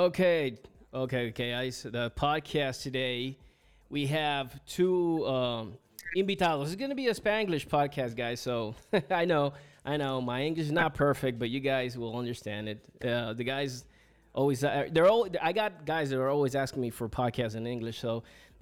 Okay, okay. The podcast today, we have two invitados. It's gonna be a Spanglish podcast, guys. So I know, my English is not perfect, but you guys will understand it. The guys always they're all. I got guys that are always asking me for podcasts in English. So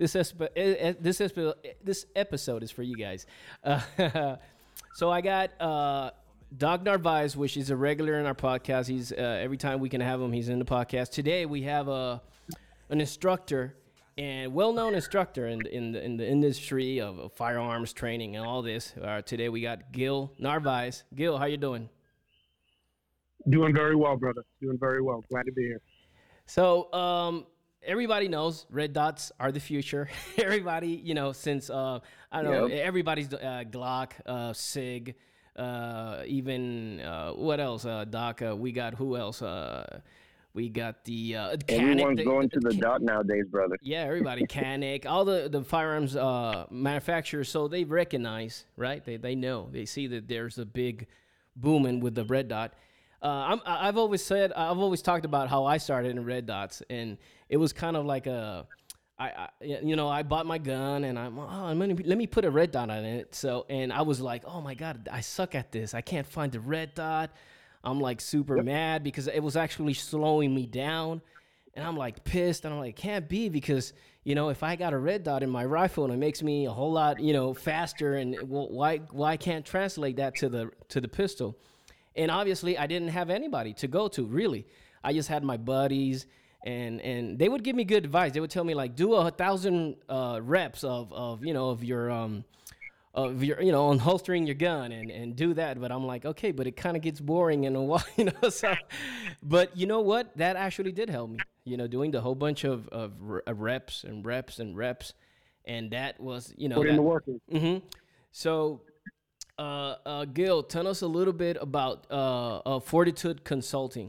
this episode is for you guys. So I got Doc Narvaez, which is a regular in our podcast. He's every time we can have him, he's in the podcast. Today we have an instructor and well-known instructor in the industry of firearms training and all this. Today we got Gil Narvaez. Gil, how you doing? Doing very well, brother. Doing very well. Glad to be here. So everybody knows red dots are the future. Everybody, since I don't know, Yep. everybody's Glock, Sig, even what else? Doc, we got who else? We got the Canic. Everyone's going to the dot nowadays, brother. Yeah, everybody, Canic, all the firearms manufacturers. So they recognize, right? They know. They see that there's a big booming with the red dot. I've always talked about how I started in red dots, and it was kind of like I bought my gun and let me put a red dot on it. So, and I was like, oh my God, I suck at this. I can't find the red dot. I'm like super mad because it was actually slowing me down. And I'm like pissed, and I'm like, can't be, because if I got a red dot in my rifle and it makes me a whole lot faster, and why can't translate that to the pistol? And obviously, I didn't have anybody to go to, really. I just had my buddies, and they would give me good advice. They would tell me, like, do 1,000 reps of your unholstering your gun and do that. But I'm like, okay, but it kind of gets boring in a while, So, but you know what? That actually did help me, doing the whole bunch of reps and reps and reps, and that was, Put in the work. So. Gil, tell us a little bit about Fortitude Consulting.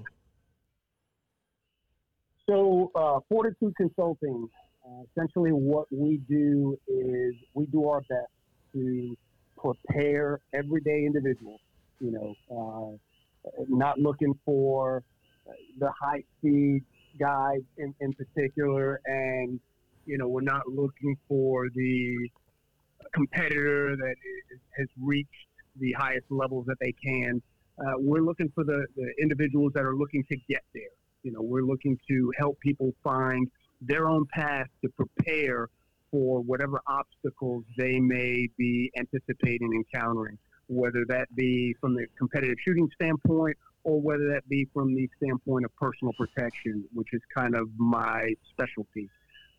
So, Fortitude Consulting, essentially what we do is we do our best to prepare everyday individuals, not looking for the high speed guys in particular. And, we're not looking for the competitor that has reached the highest levels that they can. We're looking for the individuals that are looking to get there. We're looking to help people find their own path to prepare for whatever obstacles they may be anticipating encountering, whether that be from the competitive shooting standpoint or whether that be from the standpoint of personal protection, which is kind of my specialty.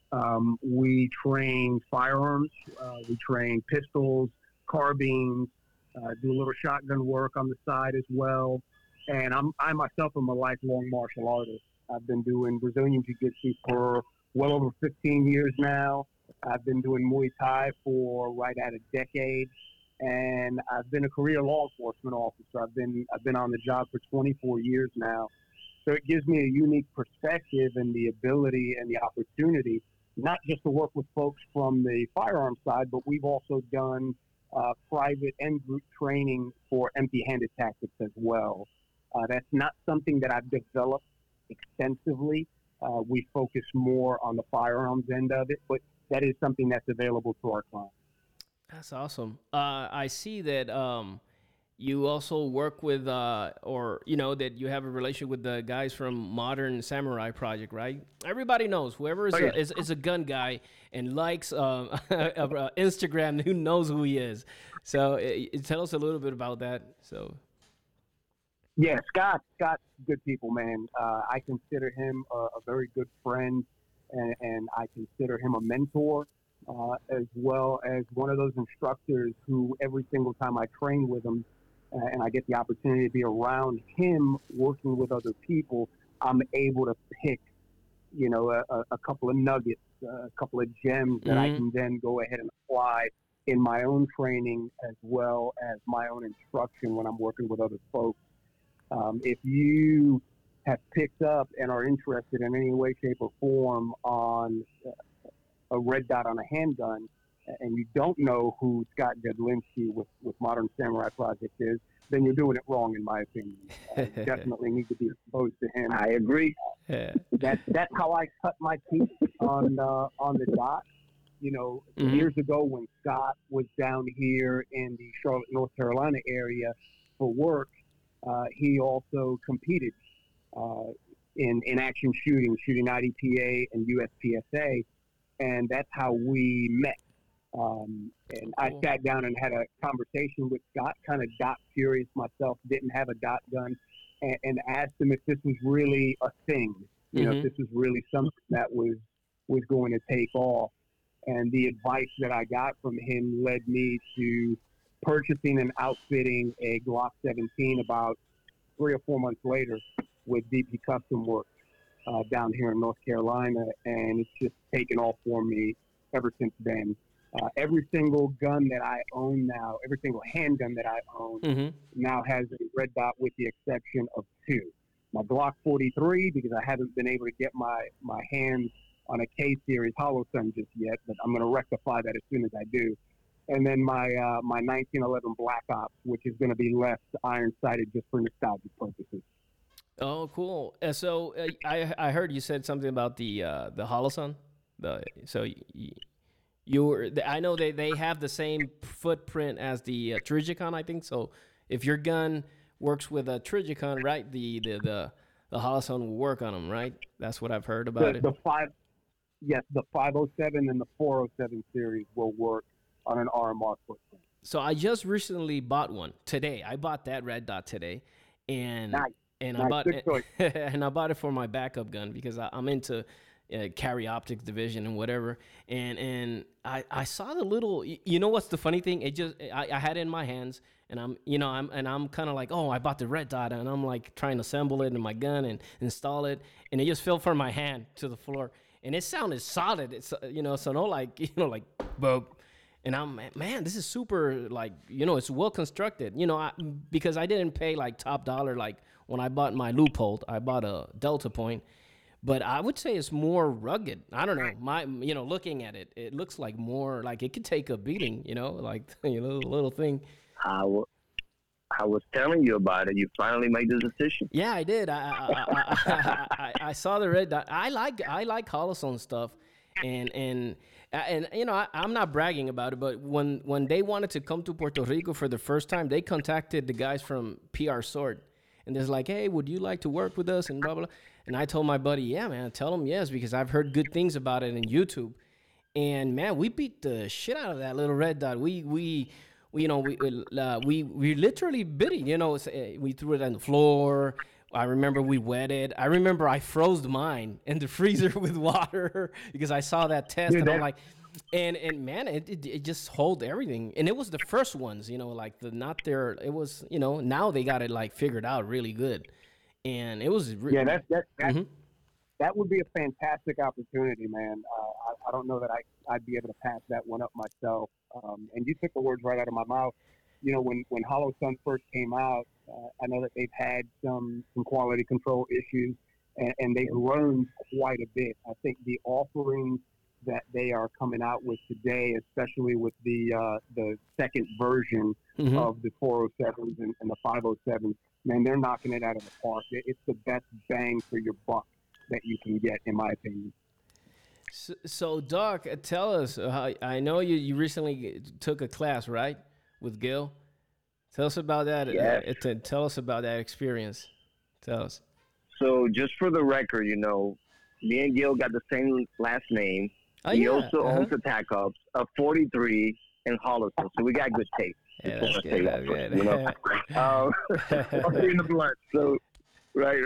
We train firearms, we train pistols, carbines, do a little shotgun work on the side as well. And I myself am a lifelong martial artist. I've been doing Brazilian Jiu-Jitsu for well over 15 years now. I've been doing Muay Thai for right at a decade. And I've been a career law enforcement officer. I've been on the job for 24 years now. So it gives me a unique perspective and the ability and the opportunity not just to work with folks from the firearm side, but we've also done private and group training for empty-handed tactics as well. That's not something that I've developed extensively. We focus more on the firearms end of it, but that is something that's available to our clients. That's awesome. I see that you also work with, that you have a relationship with the guys from Modern Samurai Project, right? Everybody knows whoever is a gun guy and likes Instagram, who knows who he is. So tell us a little bit about that. So. Yeah, Scott's good people, man. I consider him a very good friend, and I consider him a mentor, as well as one of those instructors who every single time I train with him, and I get the opportunity to be around him working with other people, I'm able to pick, a couple of nuggets, a couple of gems that I can then go ahead and apply in my own training as well as my own instruction when I'm working with other folks. If you have picked up and are interested in any way, shape, or form on a red dot on a handgun, and you don't know who Scott Godlinski with Modern Samurai Project is, then you're doing it wrong, in my opinion. You definitely need to be exposed to him. I agree. Yeah. That's how I cut my teeth on the dot. You know, years ago when Scott was down here in the Charlotte, North Carolina area for work, he also competed in action shooting IDPA and USPSA, and that's how we met. And I sat down and had a conversation with Scott, kind of dot curious myself, didn't have a dot gun, and asked him if this was really a thing, you know, if this was really something that was going to take off. And the advice that I got from him led me to purchasing and outfitting a Glock 17 about 3 or 4 months later with DP Custom Works down here in North Carolina, and it's just taken off for me ever since then. Every single gun that I own now, every single handgun that I own now has a red dot with the exception of 2. My Glock 43, because I haven't been able to get my hands on a K-Series Holosun just yet, but I'm going to rectify that as soon as I do. And then my 1911 Black Ops, which is going to be left iron-sighted just for nostalgic purposes. Oh, cool. So I heard you said something about the Holosun. I know they have the same footprint as the Trijicon, I think. So if your gun works with a Trijicon, right, the Holosun will work on them, right? That's what I've heard about it. The 507 and the 407 series will work on an RMR footprint. So I just recently bought one today. I bought that red dot today, and nice. I bought it, and I bought it for my backup gun because I'm into carry optics division and whatever. And I saw the little. You know what's the funny thing? I had it in my hands, and I'm kind of like, oh, I bought the red dot, and I'm like trying to assemble it in my gun and install it, and it just fell from my hand to the floor. And it sounded solid. It's so no like boom. And I'm, man, this is super, like, it's well constructed. Because I didn't pay like top dollar like when I bought my Leupold. I bought a Delta Point, but I would say it's more rugged. I don't know. Looking at it, it looks like more like it could take a beating. Like little thing. I was telling you about it. You finally made the decision. Yeah, I did. I saw the red dot. I like Holosun stuff, and I'm not bragging about it, but when they wanted to come to Puerto Rico for the first time, they contacted the guys from PR Sword, and they're like, hey, would you like to work with us, and blah blah. And I told my buddy, yeah, man, tell him yes, because I've heard good things about it on YouTube, and man, we beat the shit out of that little red dot. We literally bit it. We threw it on the floor. I remember we wetted. I remember I froze mine in the freezer with water because I saw that test. Dude, and I'm like, and man, it just hold everything. And it was the first ones, like it was, now they got it like figured out really good. And it was that would be a fantastic opportunity, man. I don't know that I'd be able to pass that one up myself. And you took the words right out of my mouth. When Holosun first came out, I know that they've had some quality control issues, and they've learned quite a bit. I think the offerings that they are coming out with today, especially with the second version of the 407s and the 507s, man, they're knocking it out of the park. It's the best bang for your buck that you can get, in my opinion. So Doc, tell us. I know you recently took a class, right, with Gil. Tell us about that. Yes. Tell us about that experience. Tell us. So just for the record, me and Gil got the same last name. Oh, he yeah. also owns a TAC Ops, a 43, and Holosun. So we got good taste. Yeah, that's good. That's good. In the blood. So, right.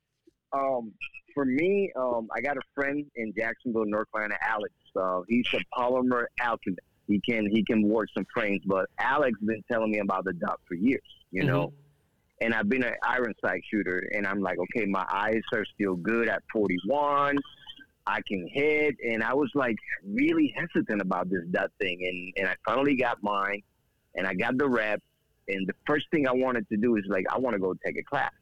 For me, I got a friend in Jacksonville, North Carolina, Alex. He's a polymer alchemist. He can work some frames, but Alex been telling me about the dot for years, And I've been an iron sight shooter, and I'm like, okay, my eyes are still good at 41. I can hit, and I was like really hesitant about this dot thing, and I finally got mine, and I got the rep, and the first thing I wanted to do is like I want to go take a class.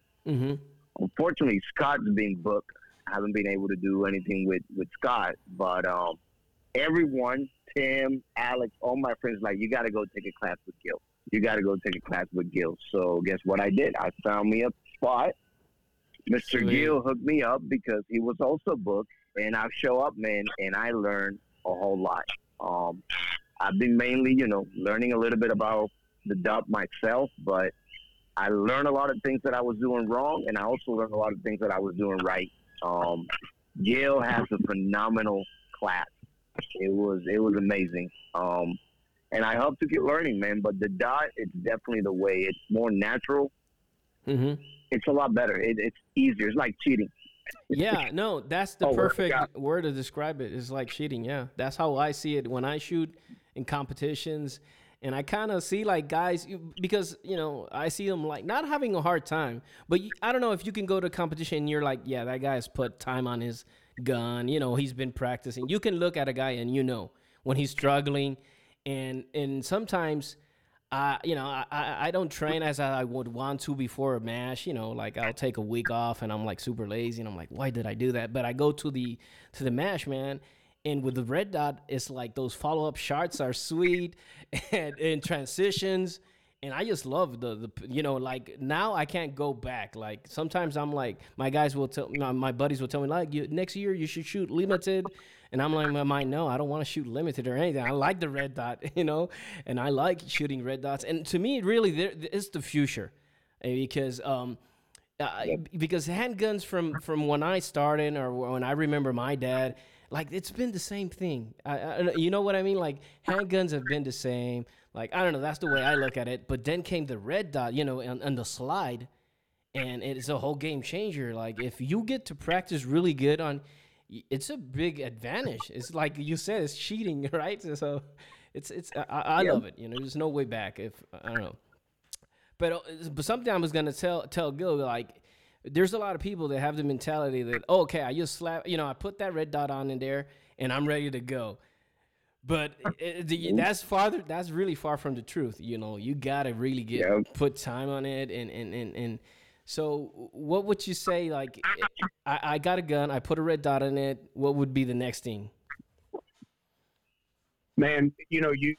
Unfortunately, Scott's been booked. I haven't been able to do anything with Scott, but everyone, Tim, Alex, all my friends, like, you got to go take a class with Gil. You got to go take a class with Gil. So guess what I did? I found me a spot. Mr. Gil hooked me up because he was also booked, and I show up, man, and I learned a whole lot. I've been mainly, learning a little bit about the dub myself, but I learned a lot of things that I was doing wrong, and I also learned a lot of things that I was doing right. Gil has a phenomenal class. It was amazing. And I hope to keep learning, man. But the dot, it's definitely the way. It's more natural. Mm-hmm. It's a lot better. It's easier. It's like cheating. Yeah, no, that's the perfect word to describe it. It's like cheating. Yeah, that's how I see it when I shoot in competitions. And I kind of see like guys, because, I see them like not having a hard time. But I don't know if you can go to a competition and you're like, yeah, that guy has put time on his gun. He's been practicing. You can look at a guy and when he's struggling. And sometimes, I don't train as I would want to before a match. Like I'll take a week off and I'm like super lazy and I'm like, why did I do that? But I go to the match, man. And with the red dot, it's like those follow-up shots are sweet and transitions. And I just love the like now I can't go back. Like sometimes I'm like, my buddies will tell me like, next year you should shoot limited. And I'm like, in my mind, no, I don't want to shoot limited or anything. I like the red dot, and I like shooting red dots. And to me, really, it's the future, because handguns from when I started or when I remember my dad, like it's been the same thing. You know what I mean? Like handguns have been the same. Like I don't know. That's the way I look at it. But then came the red dot, and the slide, and it's a whole game changer. Like if you get to practice really good on. It's a big advantage. It's like you said, it's cheating, right? So I love it. There's no way back. If I don't know, but something I was gonna tell Gil, like, there's a lot of people that have the mentality that okay, I just slap, I put that red dot on in there and I'm ready to go. But that's really far from the truth. You gotta really put time on it and. So what would you say, like, I got a gun, I put a red dot on it, what would be the next thing? Man, you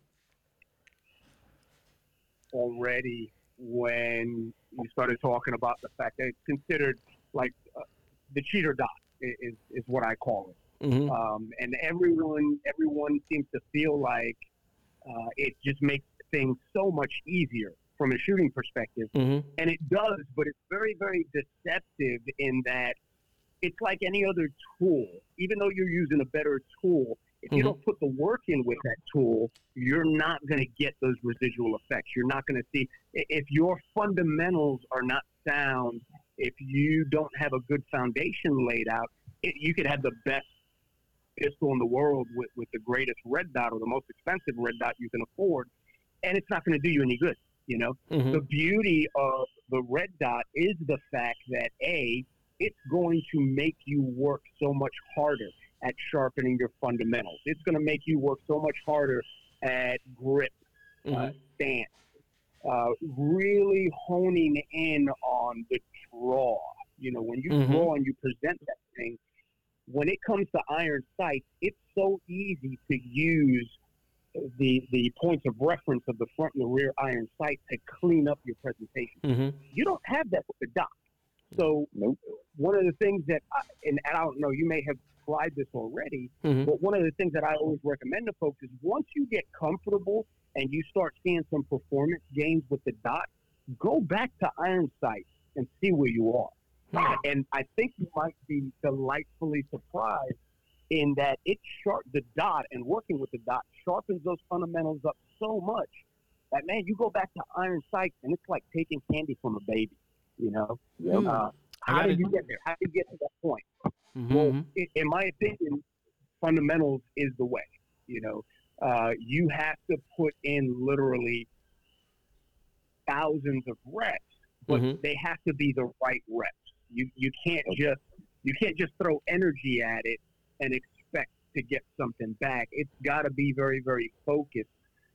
already when you started talking about the fact that it's considered like the cheater dot is what I call it. Mm-hmm. And everyone seems to feel like it just makes things so much easier from a shooting perspective. Mm-hmm. And it does, but it's very, very deceptive in that it's like any other tool. Even though you're using a better tool, if you don't put the work in with that tool, you're not going to get those residual effects. You're not going to see, if your fundamentals are not sound, if you don't have a good foundation laid out, you could have the best pistol in the world with the greatest red dot or the most expensive red dot you can afford, and it's not going to do you any good. The beauty of the red dot is the fact that it's going to make you work so much harder at sharpening your fundamentals. It's going to make you work so much harder at grip, stance, really honing in on the draw. When you draw and you present that thing, when it comes to iron sights, it's so easy to use the points of reference of the front and the rear iron sight to clean up your presentation. You don't have that with the dot. So one of the things that, and I don't know, you may have tried this already, but one of the things that I always recommend to folks is once you get comfortable and you start seeing some performance gains with the dot, go back to iron sight and see where you are. And I think you might be delightfully surprised in that the dot and working with the dot sharpens those fundamentals up so much that, man, you go back to iron sights and it's like taking candy from a baby, How did you get there? How did you get to that point? Well, in my opinion, fundamentals is the way, you have to put in literally thousands of reps, but they have to be the right reps. You can't just throw energy at it and expect to get something back. It's got to be very, very focused.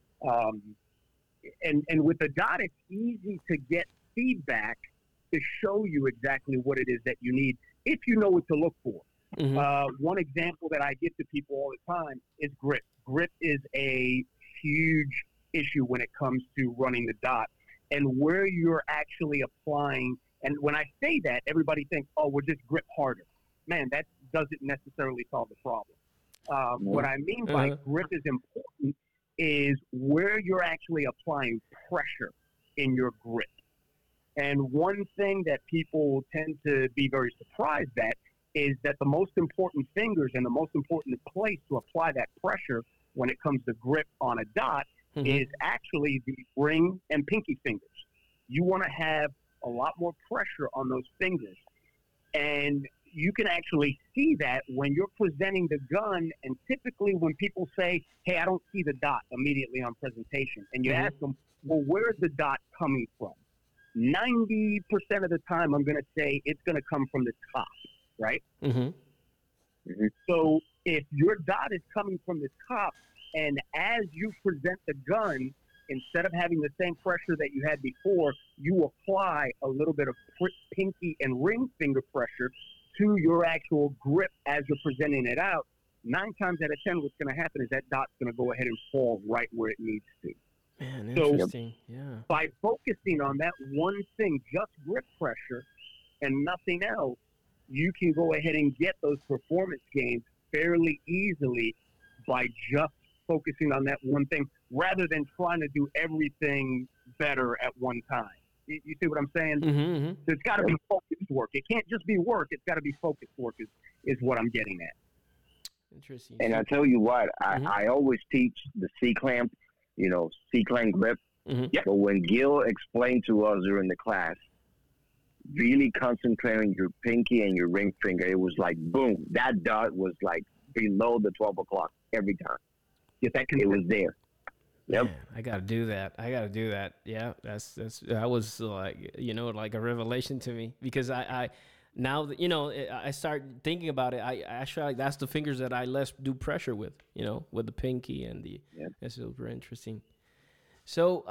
And with the dot, it's easy to get feedback to show you exactly what it is that you need if you know what to look for. One example that I give to people all the time is grip. Grip is a huge issue when it comes to running the dot and where you're actually applying. And when I say that, everybody thinks, oh, we'll just grip harder. Man, that doesn't necessarily solve the problem. What I mean by grip is important is where you're actually applying pressure in your grip. And one thing that people tend to be very surprised at is that the most important fingers and the most important place to apply that pressure when it comes to grip on a dot is actually the ring and pinky fingers. You want to have a lot more pressure on those fingers. And you can actually see that when you're presenting the gun, and typically when people say, hey, I don't see the dot immediately on presentation, and you ask them, well, where's the dot coming from? 90% of the time, I'm going to say it's going to come from the top, right? So if your dot is coming from the top, and as you present the gun, instead of having the same pressure that you had before, you apply a little bit of pinky and ring finger pressure to your actual grip as you're presenting it out. 9 times out of 10, what's going to happen is that dot's going to go ahead and fall right where it needs to. Man, interesting. Yeah. By focusing on that one thing, just grip pressure and nothing else, you can go ahead and get those performance gains fairly easily by just focusing on that one thing rather than trying to do everything better at one time. You see what I'm saying? So it's got to be focused work. It can't just be work. It's got to be focused work is what I'm getting at. Interesting. And I tell you what, I always teach the C-clamp, C-clamp grip. But when Gil explained to us during the class, really concentrating your pinky and your ring finger, it was like, boom, that dot was like below the 12 o'clock every time. It was there. Yep. Man, I gotta do that. Yeah, that was like like a revelation to me, because I now that I start thinking about it, I actually like that's the fingers that I less do pressure with, with the pinky and the. That's super interesting. So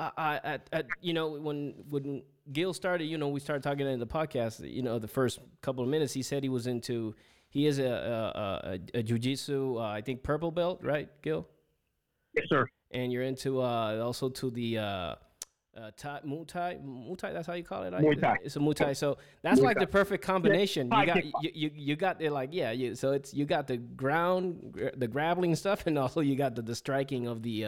when Gil started, we started talking in the podcast. The first couple of minutes, he said he is a jiu-jitsu, I think purple belt, right, Gil? Yes, sir. And you're into also to the Muay Thai. That's how you call it. Muay Thai. It's a Muay Thai. So that's like the perfect combination. You got it. Like so it's you got the grappling stuff, and also you got the striking of the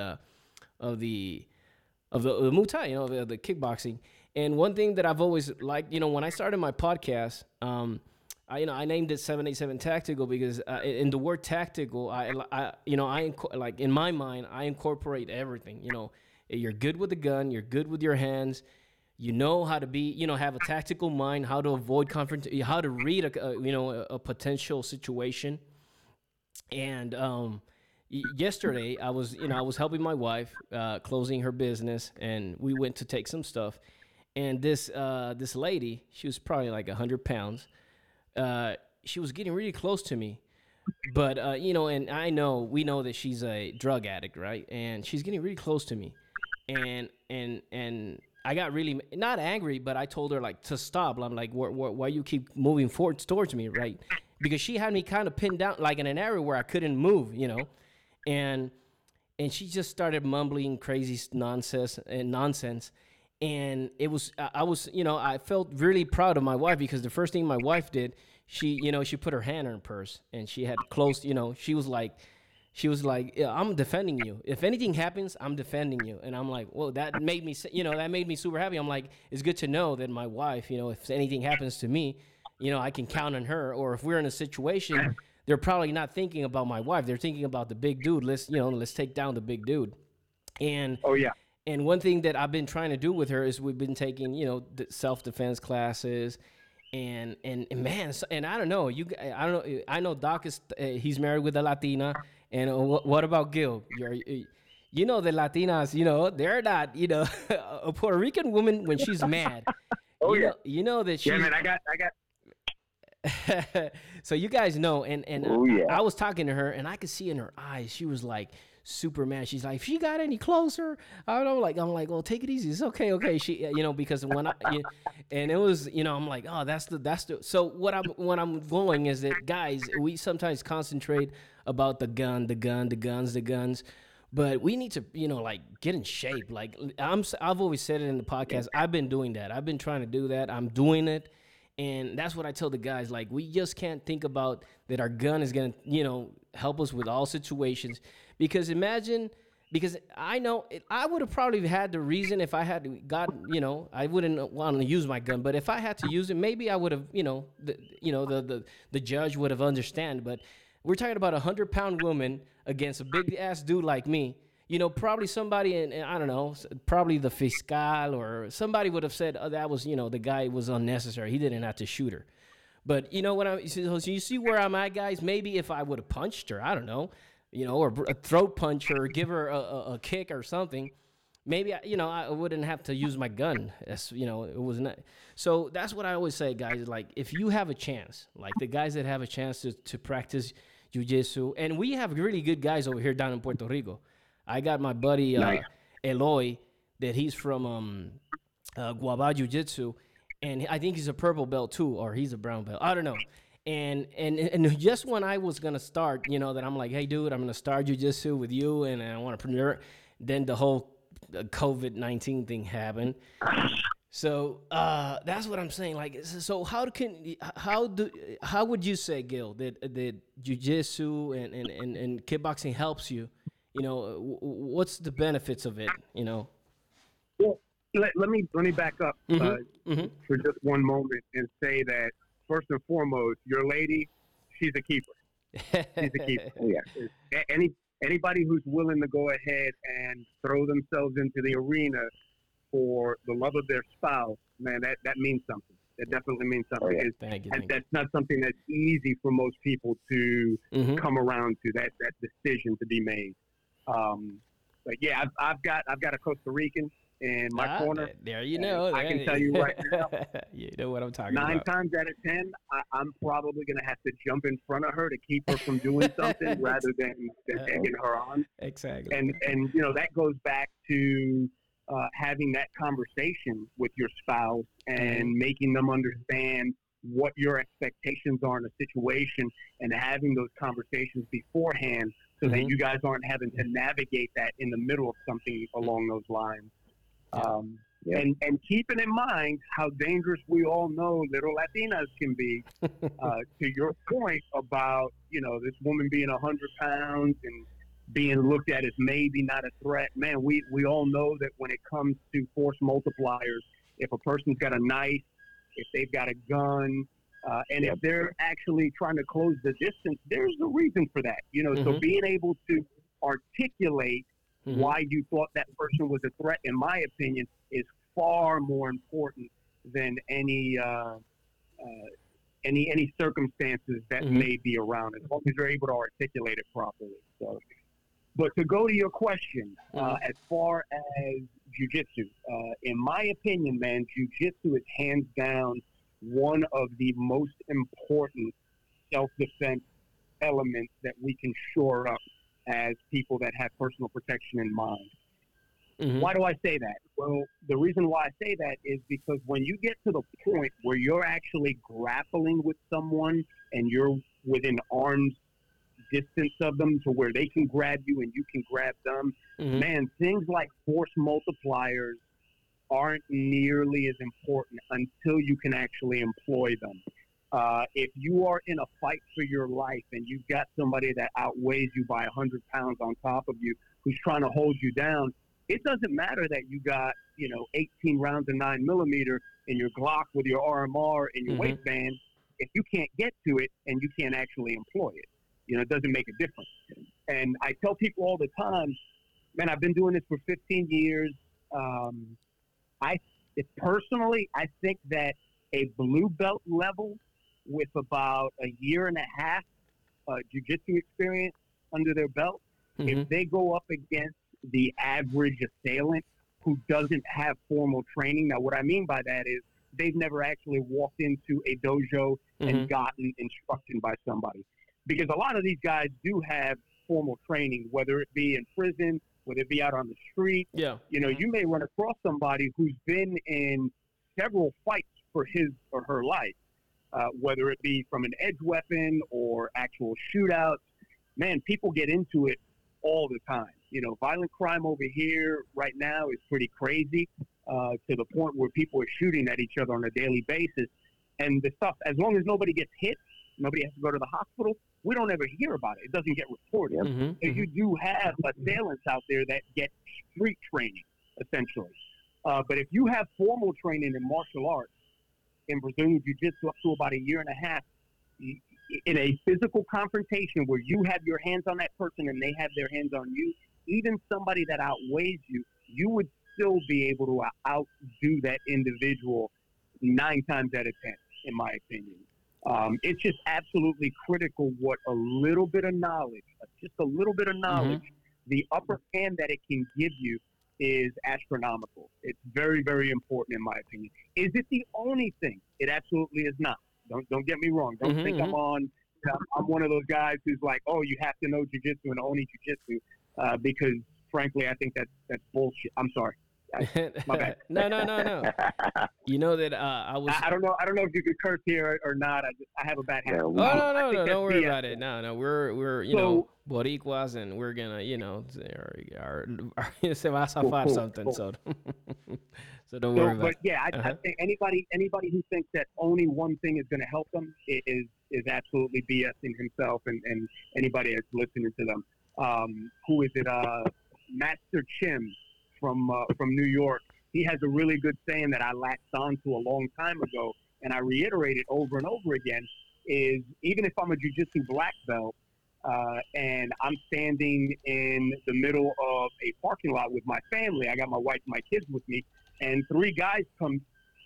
Muay Thai. The kickboxing. And one thing that I've always liked, when I started my podcast, I named it 787 Tactical because in the word tactical, like in my mind, I incorporate everything. You're good with the gun, you're good with your hands, how to be, have a tactical mind, how to avoid confrontation, how to read a potential situation. And yesterday, I was helping my wife closing her business, and we went to take some stuff, and this lady, she was probably like 100 pounds. She was getting really close to me, but and we know that she's a drug addict, right? And she's getting really close to me, and I got really not angry, but I told her like to stop. I'm like, why you keep moving forward towards me, right? Because she had me kind of pinned down, like in an area where I couldn't move, and she just started mumbling crazy nonsense. And it was, I felt really proud of my wife, because the first thing my wife did, she put her hand in her purse, and she had closed, she was like, yeah, I'm defending you. If anything happens, I'm defending you. And I'm like, well, that made me super happy. I'm like, it's good to know that my wife, if anything happens to me, I can count on her. Or if we're in a situation, they're probably not thinking about my wife. They're thinking about the big dude. Let's take down the big dude. And oh yeah. And one thing that I've been trying to do with her is we've been taking, self-defense classes, and man, and I don't know, I know Doc is he's married with a Latina, and what about Gil? The Latinas, they're not, a Puerto Rican woman when she's mad. Oh yeah. You know that she. Yeah, man, I got. So you guys know, and Oh yeah. I was talking to her, and I could see in her eyes she was like super mad. She's like, "If she got any closer, I don't know." Like I'm like, "Well, take it easy. It's okay, okay." She, because when and it was, I'm like, "Oh, that's the." So what I'm going is that guys, we sometimes concentrate about the guns, but we need to, like get in shape. Like I've always said it in the podcast. I've been doing that. I've been trying to do that. I'm doing it. And that's what I tell the guys. Like, we just can't think about that our gun is going to, help us with all situations. Because because I know I would have probably had the reason if I had gotten, I wouldn't want to use my gun. But if I had to use it, maybe I would have, the judge would have understand. But we're talking about 100-pound woman against a big ass dude like me. Probably somebody in I don't know, probably the fiscal or somebody would have said, oh, that was, the guy was unnecessary. He didn't have to shoot her. But you know what so you see where I'm at, guys? Maybe if I would have punched her, I don't know, or a throat punch her or give her a kick or something, maybe, I wouldn't have to use my gun. That's, it was not. So that's what I always say, guys. Like, if you have a chance, like the guys that have a chance to practice jiu-jitsu, and we have really good guys over here down in Puerto Rico. I got my buddy Nice. Eloy, that he's from Guava Jiu-Jitsu, and I think he's a purple belt too, or he's a brown belt. I don't know. And just when I was gonna start, that I'm like, hey, dude, I'm gonna start Jiu-Jitsu with you, and I want to premiere. Then the whole COVID-19 thing happened. So that's what I'm saying. Like, so how would you say, Gil, that jiu-jitsu and kickboxing helps you? What's the benefits of it? Well, let me back up for just one moment and say that first and foremost, your lady, she's a keeper. She's a keeper. Yeah. Anybody who's willing to go ahead and throw themselves into the arena for the love of their spouse, man, that means something. That definitely means something. Oh, yeah. Thank you. That's not something that's easy for most people to come around to. That decision to be made. But yeah, I've got a Costa Rican in my corner. There you know. I can tell you right now. You know what I'm talking about. 9 times out of 10, I'm probably going to have to jump in front of her to keep her from doing something rather than egging her on. Exactly. And that goes back to having that conversation with your spouse and making them understand what your expectations are in a situation and having those conversations beforehand so that you guys aren't having to navigate that in the middle of something along those lines. And keeping in mind how dangerous we all know little Latinas can be, to your point about, this woman being 100 pounds and being looked at as maybe not a threat. Man, we all know that when it comes to force multipliers, if a person's got a knife, if they've got a gun, and if they're actually trying to close the distance, there's a reason for that. So being able to articulate why you thought that person was a threat, in my opinion, is far more important than any circumstances that may be around, as long as you're able to articulate it properly. So, but to go to your question, as far as jiu-jitsu, in my opinion, man, jiu-jitsu is hands down one of the most important self-defense elements that we can shore up as people that have personal protection in mind. Why do I say that? Well, the reason why I say that is because when you get to the point where you're actually grappling with someone and you're within arm's distance of them to where they can grab you and you can grab them, man, things like force multipliers aren't nearly as important until you can actually employ them. If you are in a fight for your life and you've got somebody that outweighs you by 100 pounds on top of you who's trying to hold you down, it doesn't matter that you got, 18 rounds of 9mm in your Glock with your RMR in your waistband. If you can't get to it and you can't actually employ it, it doesn't make a difference. And I tell people all the time, man, I've been doing this for 15 years. Personally, I think that a blue belt level with about a year and a half jiu-jitsu experience under their belt, if they go up against the average assailant who doesn't have formal training. Now, what I mean by that is they've never actually walked into a dojo and gotten instruction by somebody. Because a lot of these guys do have formal training, whether it be in prison, whether it be out on the street. Yeah. You know, you may run across somebody who's been in several fights for his or her life, whether it be from an edge weapon or actual shootouts. Man, people get into it all the time. You know, violent crime over here right now is pretty crazy, to the point where people are shooting at each other on a daily basis. And the stuff, as long as nobody gets hit, nobody has to go to the hospital, we don't ever hear about it. It doesn't get reported. So you do have assailants out there that get street training, essentially. But if you have formal training in martial arts, in Brazilian Jiu-Jitsu up to about a year and a half, in a physical confrontation where you have your hands on that person and they have their hands on you, even somebody that outweighs you, you would still be able to outdo that individual 9 times out of 10, in my opinion. It's just absolutely critical what a little bit of knowledge, just a little bit of knowledge, the upper hand that it can give you is astronomical. It's very, very important, in my opinion. Is it the only thing? It absolutely is not. Don't get me wrong. Don't think I'm one of those guys who's like, oh, you have to know jiu-jitsu and only jiu-jitsu, because frankly, I think that's bullshit. I'm sorry. My bad. No. You know that I was. I don't know if you could curse here or not. I have a bad habit. No. Don't worry about it. No. We're you know, Boricuas, and we're gonna, you know, se va a zafar something. So don't worry about it. But yeah, I think anybody who thinks that only one thing is going to help them is absolutely BSing himself and anybody that's listening to them. Who is it? Master Chim from New York. He has a really good saying that I latched on to a long time ago, and I reiterate it over and over again, is even if I'm a jiu-jitsu black belt and I'm standing in the middle of a parking lot with my family, I got my wife and my kids with me, and three guys come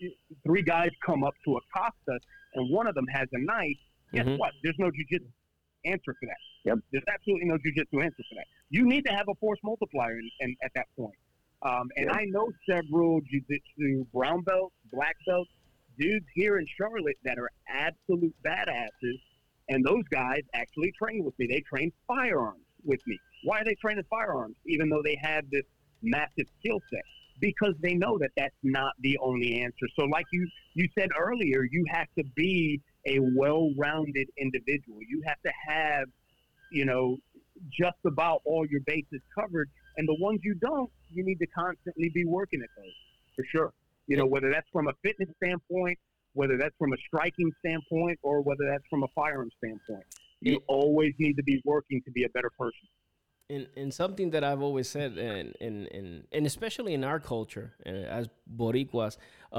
up to accost us, and one of them has a knife. Guess what? There's no jiu-jitsu answer for that. Yep. There's absolutely no jiu-jitsu answer for that. You need to have a force multiplier at that point. And I know several jiu-jitsu brown belts, black belts, dudes here in Charlotte that are absolute badasses, and those guys actually train with me. They train firearms with me. Why are they training firearms, even though they have this massive skill set? Because they know that that's not the only answer. So like you said earlier, you have to be a well-rounded individual. You have to have, you know, just about all your bases covered. And the ones you don't, you need to constantly be working at those, for sure. You know, whether that's from a fitness standpoint, whether that's from a striking standpoint, or whether that's from a firearm standpoint. You always need to be working to be a better person. And something that I've always said, and especially in our culture, as Boricuas,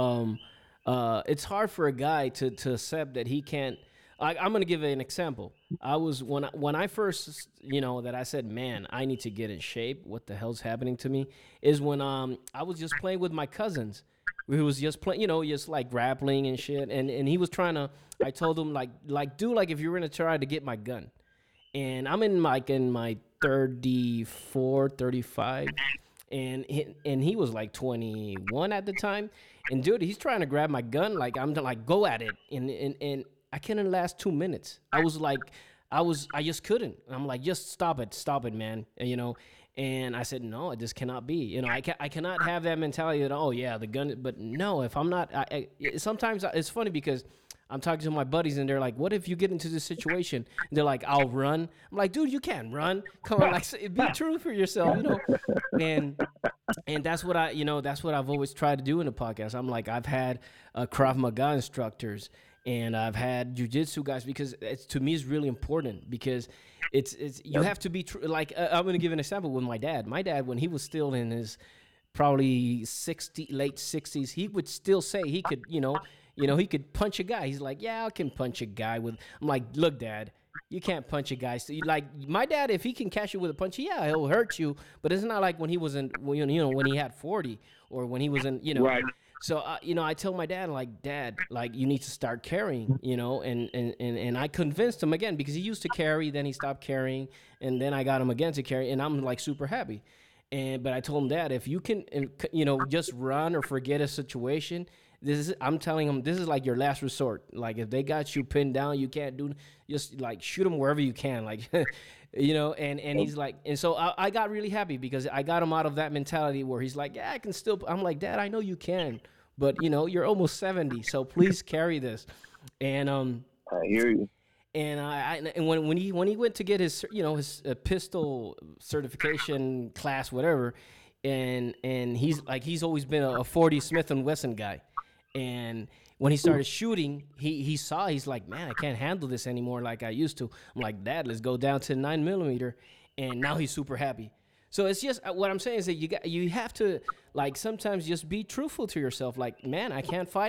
it's hard for a guy to accept that he can't. I'm going to give an example. I was when I first, you know, that I said, man, I need to get in shape. What the hell's happening to me? Is when I was just playing with my cousins. We was just playing, you know, just like grappling and shit. And he was trying to. I told him like if you were gonna try to get my gun, and I'm in my 34, 35, and he was like 21 at the time. And dude, he's trying to grab my gun. Like I'm like, go at it, and I couldn't last 2 minutes. I just couldn't. I'm like, just stop it, man. And, you know, and I said, no, this cannot be. You know, I cannot have that mentality that, oh yeah, the gun. But no, if I'm not, sometimes it's funny because I'm talking to my buddies and they're like, what if you get into this situation? And they're like, I'll run. I'm like, dude, you can't run. Come on, like, be true for yourself, you know. And that's what that's what I've always tried to do in the podcast. I'm like, I've had Krav Maga instructors. And I've had jiu-jitsu guys because to me it's really important because it's you have to be like I'm going to give an example with my dad. My dad, when he was still in his probably late 60s, he would still say he could, you know, he could punch a guy. He's like, yeah, I can punch a guy with. I'm like, look, Dad, you can't punch a guy. So like my dad, if he can catch you with a punch, yeah, he'll hurt you. But it's not like when he was in, you know, when he had 40 or when he was in, you know. Right. So, you know, I tell my dad, like, Dad, like, you need to start carrying, you know, and I convinced him again because he used to carry, then he stopped carrying, and then I got him again to carry, and I'm, like, super happy. But I told him, Dad, if you can, you know, just run or forget a situation, I'm telling him, this is like your last resort. Like if they got you pinned down, you can't do, just like shoot them wherever you can. Like, and he's like, and so I got really happy because I got him out of that mentality where he's like, yeah, I can still, I'm like, Dad, I know you can, but you're almost 70. So please carry this. And, I hear you. and and when he went to get his his pistol certification class, whatever, and he's always been a 40 Smith and Wesson guy, and when he started shooting, he's like, man, I can't handle this anymore like I used to. I'm like, Dad, let's go down to 9mm, and now he's super happy. So it's just what I'm saying is that you have to, like, sometimes just be truthful to yourself. Like, man, I can't fight.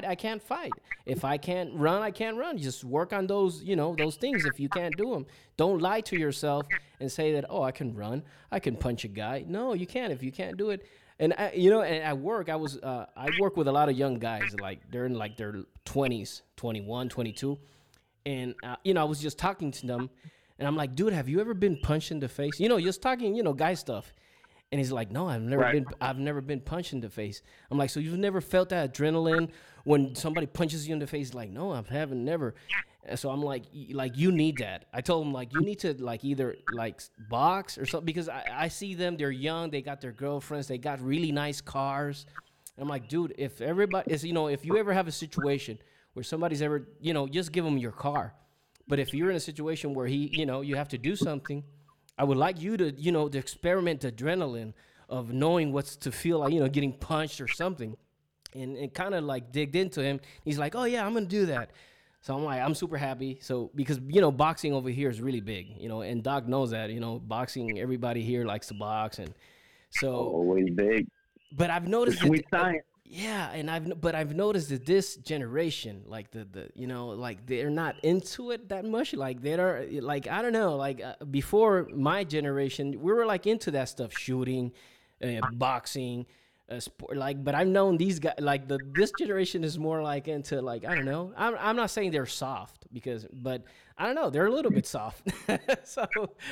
If I can't run, I can't run. Just work on those those things. If you can't do them, don't lie to yourself and say that, oh, I can run, I can punch a guy. No, you can't if you can't do it. And and at work, I work with a lot of young guys, like they're in like their 20s, 21, 22, and I was just talking to them. And I'm like, dude, have you ever been punched in the face? Just talking, guy stuff. And he's like, no, I've never been punched in the face. I'm like, so you've never felt that adrenaline when somebody punches you in the face? Like, no, I haven't, never. And so I'm like, you need that. I told him, like, you need to like either like box or something, because I see them, they're young, they got their girlfriends, they got really nice cars. And I'm like, dude, if everybody is, if you ever have a situation where somebody's ever, just give them your car. But if you're in a situation where you have to do something, I would like you to, to experiment the adrenaline of knowing what's to feel like, getting punched or something, and kind of like digged into him. He's like, oh yeah, I'm going to do that. So I'm like, I'm super happy. So, because, boxing over here is really big, and Doc knows that, boxing, everybody here likes to box. And so. Always big. But I've noticed. Sweet science. Yeah, and I've noticed that this generation, like like they're not into it that much. Like they're like, I don't know, like before my generation, we were like into that stuff, shooting, boxing, sport. Like, but I've known these guys, like this generation is more like into, like, I don't know. I'm not saying they're soft but I don't know, they're a little bit soft. So,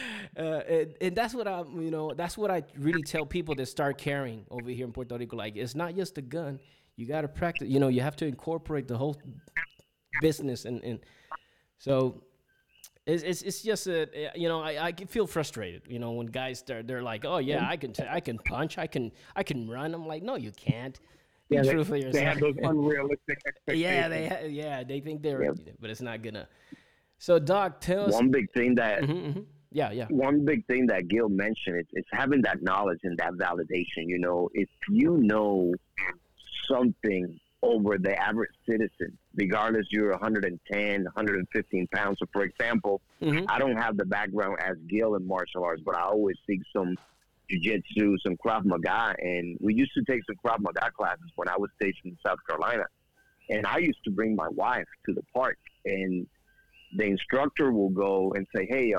and that's what that's what I really tell people that start carrying over here in Puerto Rico. Like, it's not just a gun. You got to practice. You have to incorporate the whole business, and so it's just I can feel frustrated. When guys they're like, oh yeah, I can punch, I can run. I'm like, no, you can't. Be true for yourself. They have those unrealistic expectations. They think they're, but it's not gonna. So, Doc, tell us one big thing that. Yeah. One big thing that Gil mentioned is having that knowledge and that validation. If you know something over the average citizen, regardless you're 110, 115 pounds. So, for example, I don't have the background as Gil in martial arts, but I always seek some jiu-jitsu, some Krav Maga, and we used to take some Krav Maga classes when I was stationed in South Carolina. And I used to bring my wife to the park, and the instructor will go and say, hey,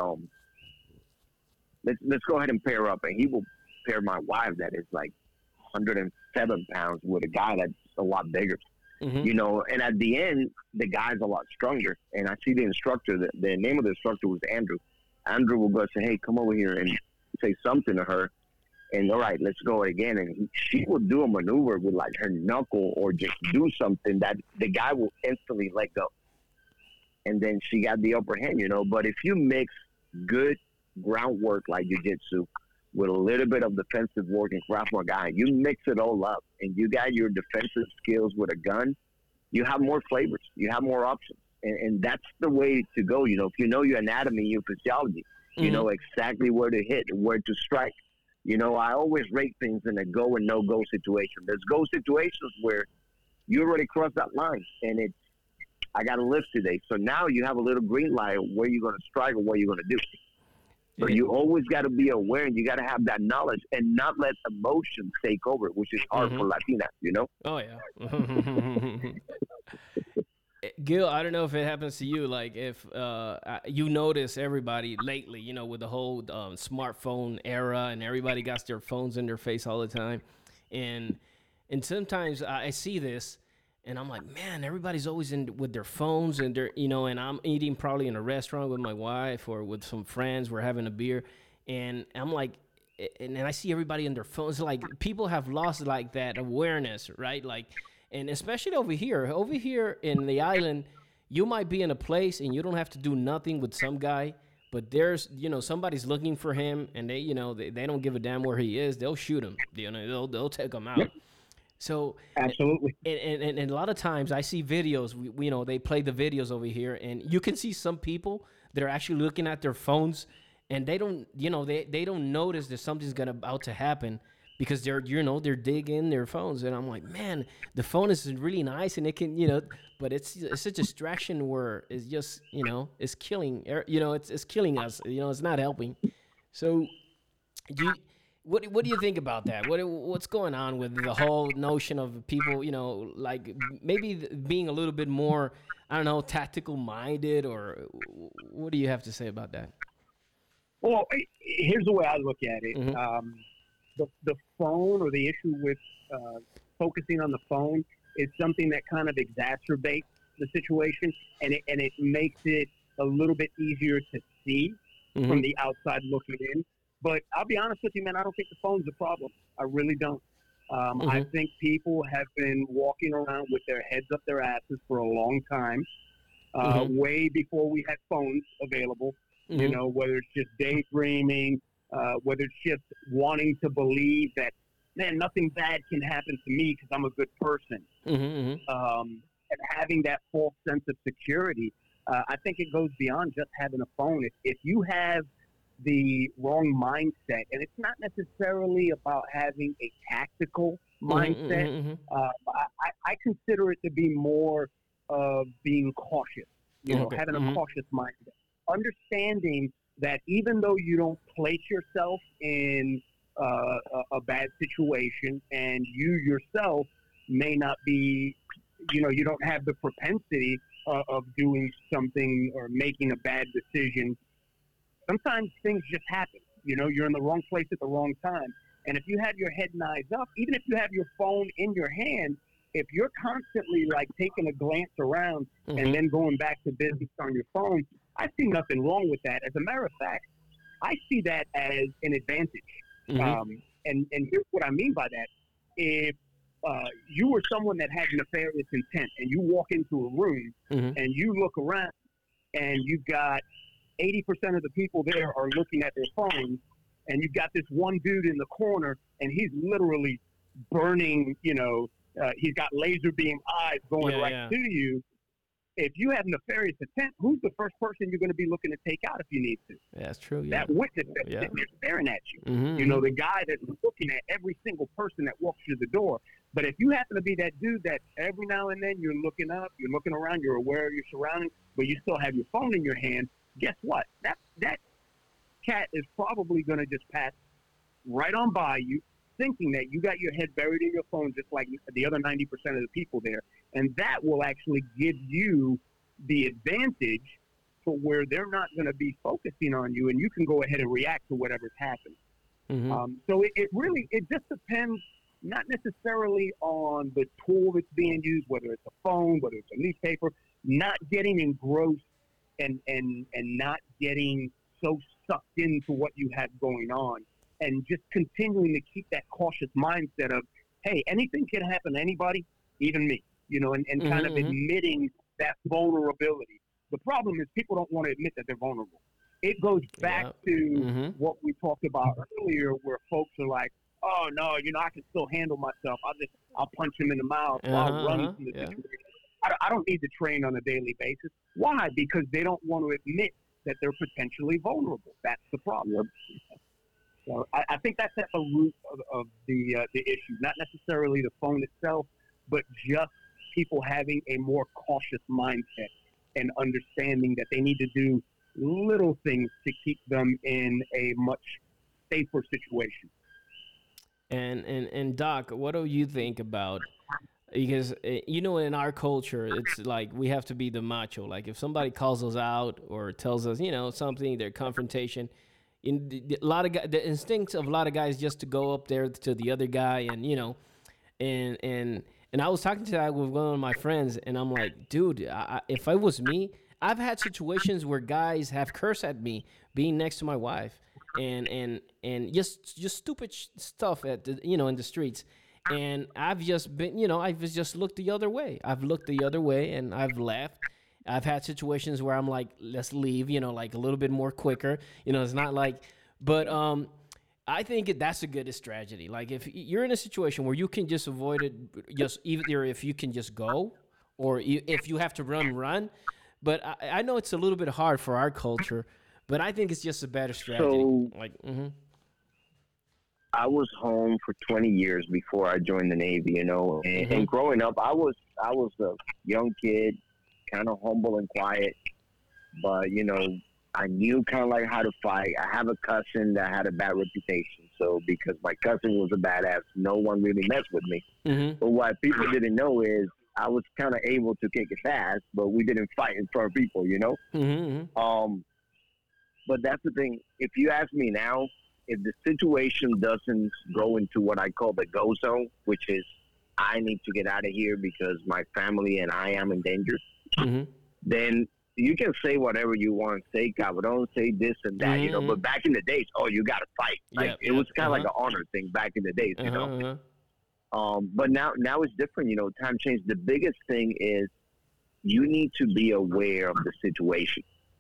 let's go ahead and pair up. And he will pair my wife that is like 107 pounds with a guy that's a lot bigger. And at the end, the guy's a lot stronger. And I see the instructor, the name of the instructor was Andrew. Andrew will go and say, hey, come over here and say something to her. And all right, let's go again. And she will do a maneuver with like her knuckle or just do something that the guy will instantly let go. And then she got the upper hand, But if you mix good groundwork like jiu-jitsu with a little bit of defensive work in Krav Maga, you mix it all up and you got your defensive skills with a gun, you have more flavors. You have more options. And that's the way to go. If you know your anatomy, your physiology, you know exactly where to hit, where to strike. I always rate things in a go and no-go situation. There's go situations where you already crossed that line and it's, I got to lift today. So now you have a little green light where you're going to strike or what you're going to do. So you always got to be aware and you got to have that knowledge and not let emotions take over, which is hard for Latinas, Oh, yeah. Gil, I don't know if it happens to you. Like, if you notice everybody lately, with the whole smartphone era and everybody got their phones in their face all the time. And sometimes I see this. And I'm like, man, everybody's always in with their phones and they're, and I'm eating probably in a restaurant with my wife or with some friends. We're having a beer. And I'm like, and I see everybody on their phones. Like, people have lost like that awareness, right? Like, And especially over here. Over here in the island, you might be in a place and you don't have to do nothing with some guy, but there's, somebody's looking for him, and they don't give a damn where he is. They'll shoot him. They'll take him out. Yep. So Absolutely. and a lot of times I see videos. They play the videos over here, and you can see some people that are actually looking at their phones, and they don't, they don't notice that something's about to happen because they're digging their phones, and I'm like, man, the phone is really nice, and it can, but it's a distraction where it's just, it's killing, it's killing us, it's not helping. So, what do you think about that? What's going on with the whole notion of people, like maybe being a little bit more, I don't know, tactical minded, or what do you have to say about that? Well, here's the way I look at it. Mm-hmm. The phone, or the issue with focusing on the phone, is something that kind of exacerbates the situation, and it makes it a little bit easier to see Mm-hmm. from the outside looking in. But I'll be honest with you, man, I don't think the phone's a problem. I really don't. I think people have been walking around with their heads up their asses for a long time, way before we had phones available. Mm-hmm. Whether it's just daydreaming, whether it's just wanting to believe that, man, nothing bad can happen to me because I'm a good person. And having that false sense of security, I think it goes beyond just having a phone. If you have the wrong mindset, and it's not necessarily about having a tactical mindset, I consider it to be more of being cautious, having a cautious mindset. Understanding that even though you don't place yourself in a bad situation, and you yourself may not be, you don't have the propensity of doing something or making a bad decision, sometimes things just happen. You're in the wrong place at the wrong time. And if you have your head and eyes up, even if you have your phone in your hand, if you're constantly like taking a glance around and then going back to business on your phone, I see nothing wrong with that. As a matter of fact, I see that as an advantage. And here's what I mean by that. If you were someone that had nefarious intent, and you walk into a room and you look around and you've got 80% of the people there are looking at their phones, and you've got this one dude in the corner, and he's literally burning, he's got laser beam eyes going to you. If you have nefarious intent, who's the first person you're going to be looking to take out if you need to? Yeah, that's true. Yeah. That witness that's sitting there staring at you. The guy that's looking at every single person that walks through the door. But if you happen to be that dude that every now and then you're looking up, you're looking around, you're aware of your surroundings, but you still have your phone in your hand, guess what? That cat is probably going to just pass right on by you, thinking that you got your head buried in your phone just like the other 90% of the people there. And that will actually give you the advantage to where they're not going to be focusing on you, and you can go ahead and react to whatever's happened. So it just depends, not necessarily on the tool that's being used, whether it's a phone, whether it's a newspaper, not getting engrossed and not getting so sucked into what you have going on, and just continuing to keep that cautious mindset of, hey, anything can happen to anybody, even me, and kind of admitting that vulnerability. The problem is people don't want to admit that they're vulnerable. It goes back to what we talked about earlier, where folks are like, oh, no, I can still handle myself. I'll punch him in the mouth while running from the situation. I don't need to train on a daily basis. Why? Because they don't want to admit that they're potentially vulnerable. That's the problem. So I think that's at the root of the issue, not necessarily the phone itself, but just people having a more cautious mindset and understanding that they need to do little things to keep them in a much safer situation. And Doc, what do you think about? Because in our culture, it's like we have to be the macho. Like if somebody calls us out or tells us, something, their confrontation. The instincts of a lot of guys just to go up there to the other guy, and I was talking to that with one of my friends, and I'm like, dude, if it was me, I've had situations where guys have cursed at me being next to my wife, and just stupid stuff in the streets. And I've just been, I've just looked the other way. I've looked the other way and I've left. I've had situations where I'm like, let's leave, like a little bit more quicker. It's not like, but I think that's a good strategy. Like if you're in a situation where you can just avoid it, just either if you can just go, or if you have to run. But I know it's a little bit hard for our culture, but I think it's just a better strategy. So like, I was home for 20 years before I joined the Navy, and growing up, I was a young kid, kind of humble and quiet, but I knew kind of like how to fight. I have a cousin that had a bad reputation, so because my cousin was a badass, no one really messed with me. But what people didn't know is I was kind of able to kick his ass, but we didn't fight in front of people, But that's the thing. If you ask me now, if the situation doesn't go into what I call the go zone, which is I need to get out of here because my family and I am in danger, then you can say whatever you want. Say cabron, say this and that, But back in the days, you got to fight. Like it was kind of like an honor thing back in the days, But now it's different. Time changed. The biggest thing is you need to be aware of the situation.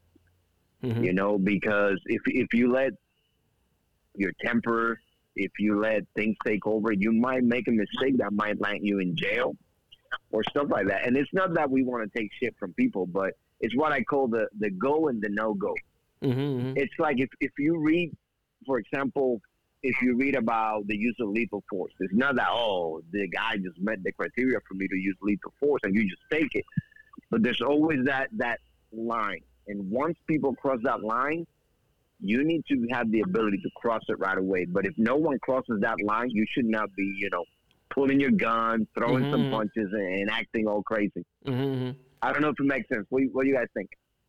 Because if you let your temper, if you let things take over, you might make a mistake that might land you in jail or stuff like that. And it's not that we want to take shit from people, but it's what I call the go and the no-go. It's like if you read, for example, if you read about the use of lethal force, it's not that, the guy just met the criteria for me to use lethal force and you just take it. But there's always that line. And once people cross that line, you need to have the ability to cross it right away. But if no one crosses that line, you should not be, pulling your gun, throwing some punches, and acting all crazy. I don't know if it makes sense. What do you guys think?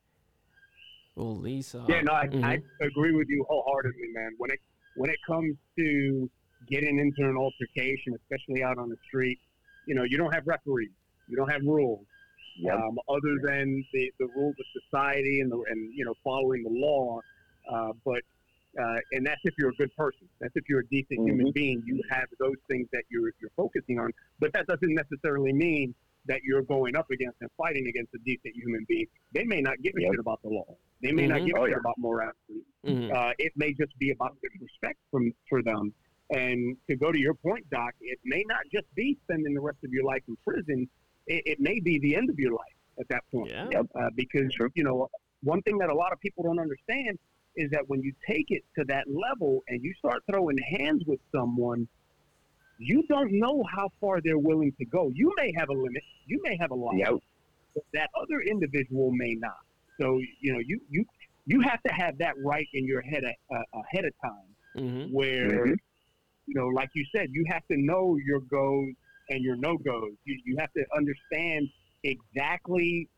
Well, Lisa. Yeah, no, I agree with you wholeheartedly, man. When it comes to getting into an altercation, especially out on the street, you don't have referees, you don't have rules. Other than the rules of society and following the law, and that's if you're a good person. That's if you're a decent human being. You have those things that you're focusing on, but that doesn't necessarily mean that you're going up against and fighting against a decent human being. They may not give a shit about the law. They may not give a shit about morality. It may just be about disrespect for them. And to go to your point, Doc, it may not just be spending the rest of your life in prison. It may be the end of your life at that point. Because, one thing that a lot of people don't understand is that when you take it to that level and you start throwing hands with someone, you don't know how far they're willing to go. You may have a limit. You may have a line. But that other individual may not. So, you have to have that right in your head ahead of time where, like you said, you have to know your goes and your no-goes. You have to understand exactly,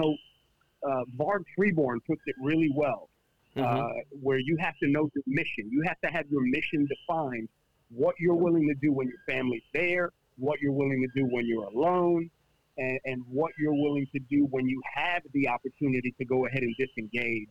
Bart Freeborn puts it really well, where you have to know your mission. You have to have your mission defined, what you're willing to do when your family's there, what you're willing to do when you're alone, and what you're willing to do when you have the opportunity to go ahead and disengage.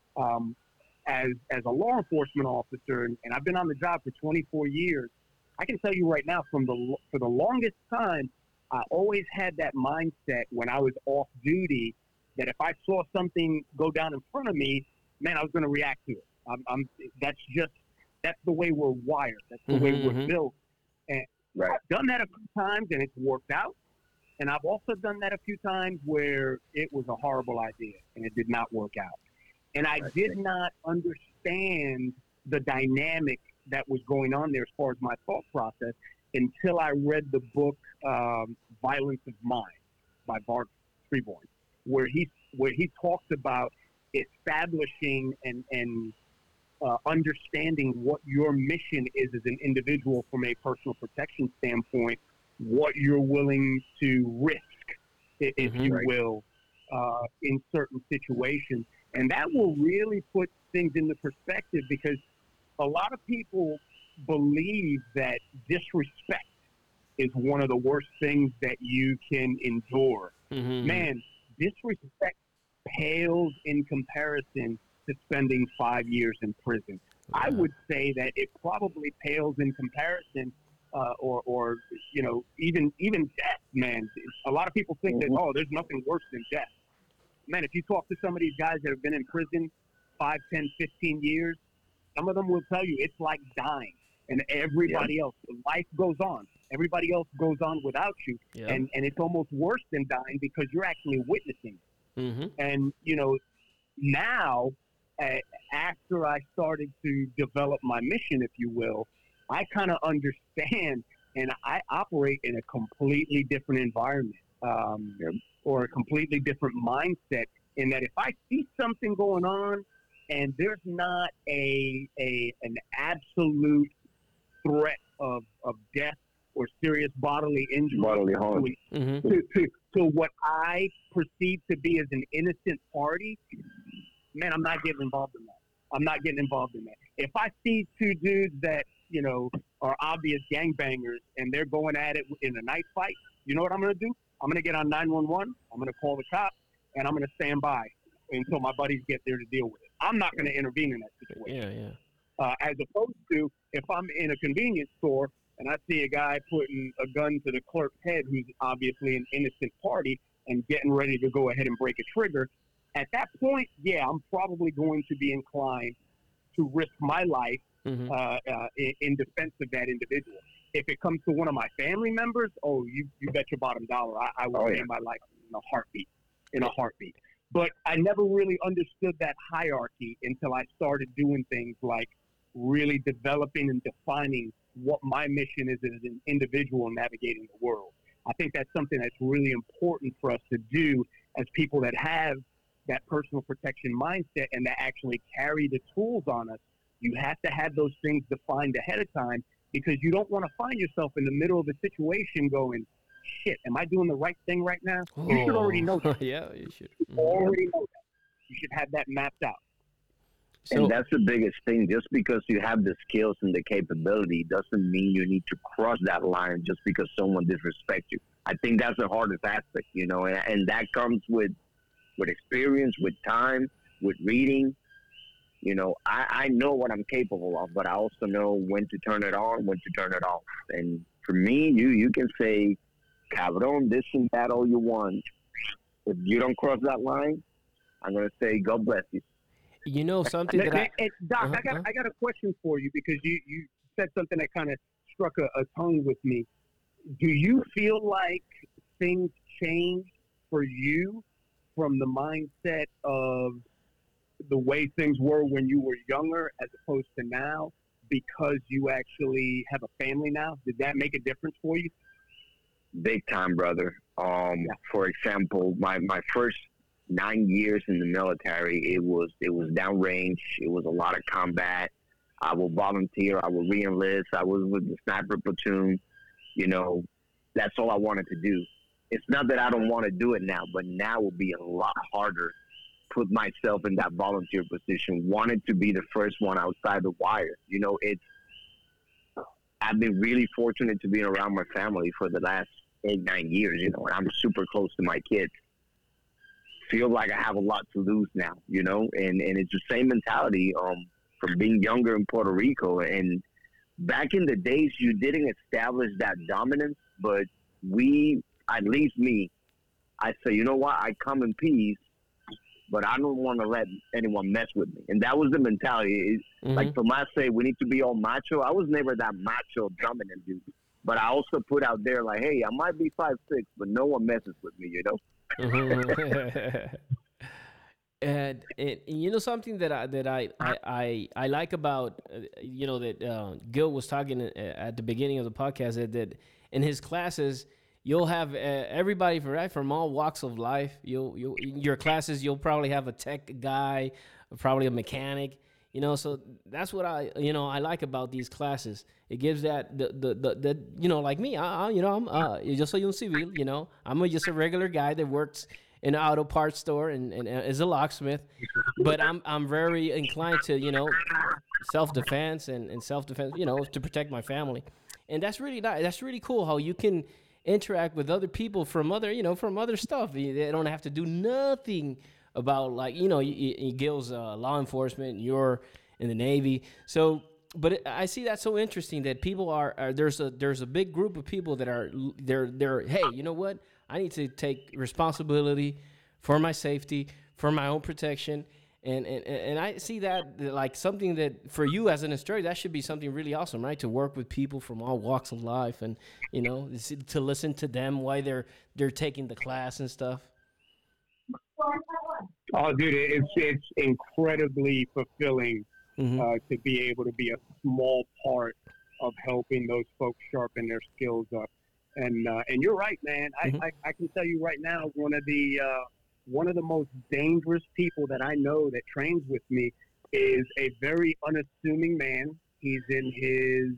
As a law enforcement officer, and I've been on the job for 24 years, I can tell you right now, for the longest time, I always had that mindset when I was off duty that if I saw something go down in front of me, man, I was going to react to it. That's the way we're wired. That's the way we're built. And I've done that a few times, and it's worked out. And I've also done that a few times where it was a horrible idea, and it did not work out. And I did not understand the dynamic that was going on there as far as my thought process until I read the book Violence of Mind by Bart Freeborn, where he talks about establishing and understanding what your mission is as an individual from a personal protection standpoint, what you're willing to risk, if you will, in certain situations. And that will really put things into perspective, because a lot of people believe that disrespect is one of the worst things that you can endure. Man, disrespect pales in comparison to spending 5 years in prison. I would say that it probably pales in comparison or even death, man. A lot of people think that, there's nothing worse than death. Man, if you talk to some of these guys that have been in prison 5, 10, 15 years, some of them will tell you it's like dying. And everybody else, life goes on. Everybody else goes on without you. Yeah. And it's almost worse than dying because you're actually witnessing it. Mm-hmm. And, now, after I started to develop my mission, if you will, I kind of understand and I operate in a completely different environment or a completely different mindset in that if I see something going on and there's not an absolute threat of death or serious bodily injury to what I perceive to be as an innocent party, man, I'm not getting involved in that. I'm not getting involved in that. If I see two dudes that, are obvious gangbangers and they're going at it in a knife fight, you know what I'm going to do? I'm going to get on 911. I'm going to call the cops, and I'm going to stand by until my buddies get there to deal with it. I'm not going to intervene in that situation. Yeah. As opposed to if I'm in a convenience store and I see a guy putting a gun to the clerk's head who's obviously an innocent party and getting ready to go ahead and break a trigger, at that point, I'm probably going to be inclined to risk my life in defense of that individual. If it comes to one of my family members, you bet your bottom dollar I will end my life in a heartbeat. But I never really understood that hierarchy until I started doing things like really developing and defining what my mission is as an individual navigating the world. I think that's something that's really important for us to do as people that have that personal protection mindset and that actually carry the tools on us. You have to have those things defined ahead of time because you don't want to find yourself in the middle of a situation going, shit, am I doing the right thing right now? You should already know that. Yeah, you should. Already know that. You should have that mapped out. And that's the biggest thing. Just because you have the skills and the capability doesn't mean you need to cross that line just because someone disrespects you. I think that's the hardest aspect, and that comes with experience, with time, with reading. I know what I'm capable of, but I also know when to turn it on, when to turn it off. And for me, you can say, cabron, this and that all you want. If you don't cross that line, I'm going to say, God bless you. Something that Doc, I got a question for you because you said something that kind of struck a tone with me. Do you feel like things change for you from the mindset of the way things were when you were younger as opposed to now because you actually have a family now? Did that make a difference for you? Big time, brother. For example, my first 9 years in the military, it was downrange. It was a lot of combat. I will volunteer. I will re-enlist. I was with the sniper platoon. That's all I wanted to do. It's not that I don't want to do it now, but now will be a lot harder. Put myself in that volunteer position. Wanted to be the first one outside the wire. I've been really fortunate to be around my family for the last 8-9 years. And I'm super close to my kids. Feel like I have a lot to lose now. And it's the same mentality from being younger in Puerto Rico. And back in the days, you didn't establish that dominance, but at least me, I say, you know what? I come in peace, but I don't want to let anyone mess with me. And that was the mentality. Like Tomas say, we need to be all macho. I was never that macho dominant dude. But I also put out there like, hey, I might be 5'6", but no one messes with me, And something that I like about that Gil was talking at the beginning of the podcast that in his classes you'll have everybody from all walks of life. In your classes you'll probably have a tech guy, probably a mechanic. So that's what I like about these classes. It gives that the like me. I'm yo soy un civil. I'm just a regular guy that works in an auto parts store and is a locksmith, but I'm very inclined to self-defense and self-defense to protect my family, and that's really nice. That's really cool how you can interact with other people from other stuff. They don't have to do nothing about Gil's law enforcement. And you're in the Navy, so but I see that so interesting that people are there's a big group of people that are they're hey, you know what? I need to take responsibility for my safety, for my own protection. And I see that like something that for you as an instructor, that should be something really awesome, right? To work with people from all walks of life, and to listen to them while they're taking the class and stuff. Oh, dude, it's incredibly fulfilling Hmm. to be able to be a small part of helping those folks sharpen their skills up. And you're right, man. Hmm. I can tell you right now, one of the most dangerous people that I know that trains with me is a very unassuming man. He's in his